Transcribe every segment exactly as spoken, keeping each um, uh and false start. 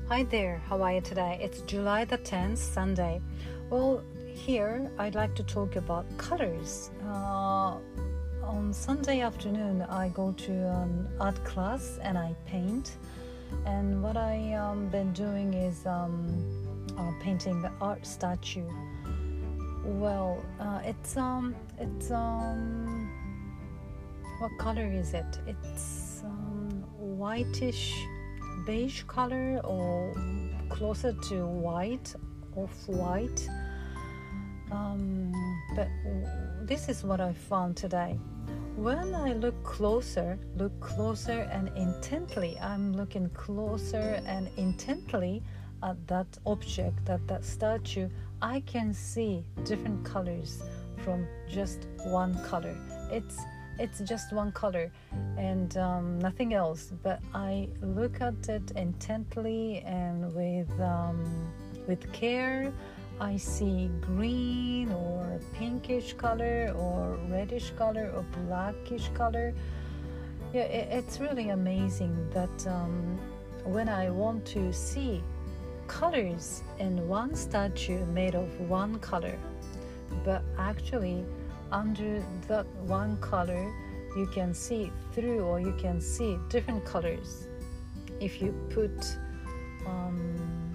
Hi there, how are you today? It's July the tenth, Sunday. Well, here I'd like to talk about colors. Uh, on Sunday afternoon, I go to an art class and I paint. And what I um, been doing is um, uh, painting the art statue. Well, uh, it's um, it's um, what color is it? It's um, whitish, beige color, or closer to white, off-white. Um, but this is what I found today. When I look closer, look closer and intently, I'm looking closer and intently at that object, at that statue, I can see different colors from just one color. It's it's just one color and um, nothing else. But I look at it intently and with um, with care. I see green or pinkish color or reddish color or blackish color. Yeah, it, it's really amazing that um, when I want to see colors in one statue made of one color, but actually under that one color you can see through, or you can see different colors if you put um,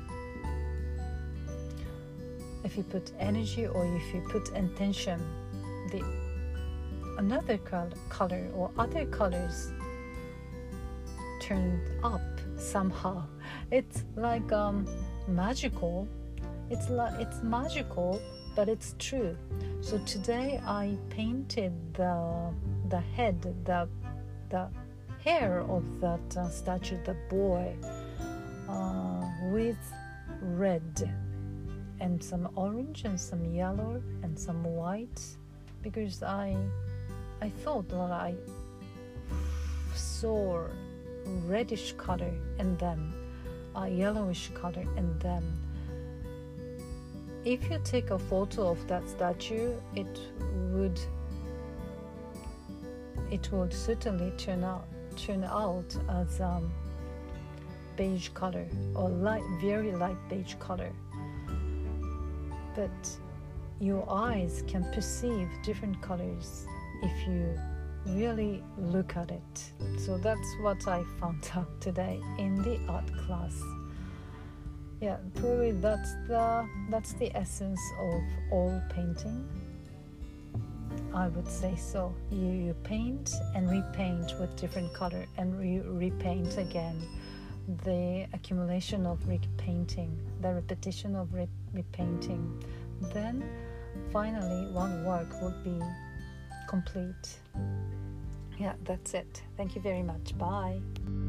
if you put energy or if you put intention. The another color or other colors turned up somehow. It's like um, magical. It's like it's magical, but it's true. So today I painted the the head, the the hair of that uh, statue, the boy, uh, with red and some orange and some yellow and some white, because I I thought that I saw reddish color in them, a yellowish color in them. If you take a photo of that statue, it would it would certainly turn out turn out as um, beige color or light, very light beige color. But your eyes can perceive different colors if you really look at it. So that's what I found out today in the art class. Yeah, probably that's the that's the essence of all painting. I would say so. You, you paint and repaint with different color and re- repaint again. The accumulation of repainting, the repetition of re- repainting. Then finally one work would be complete. Yeah, that's it. Thank you very much. Bye.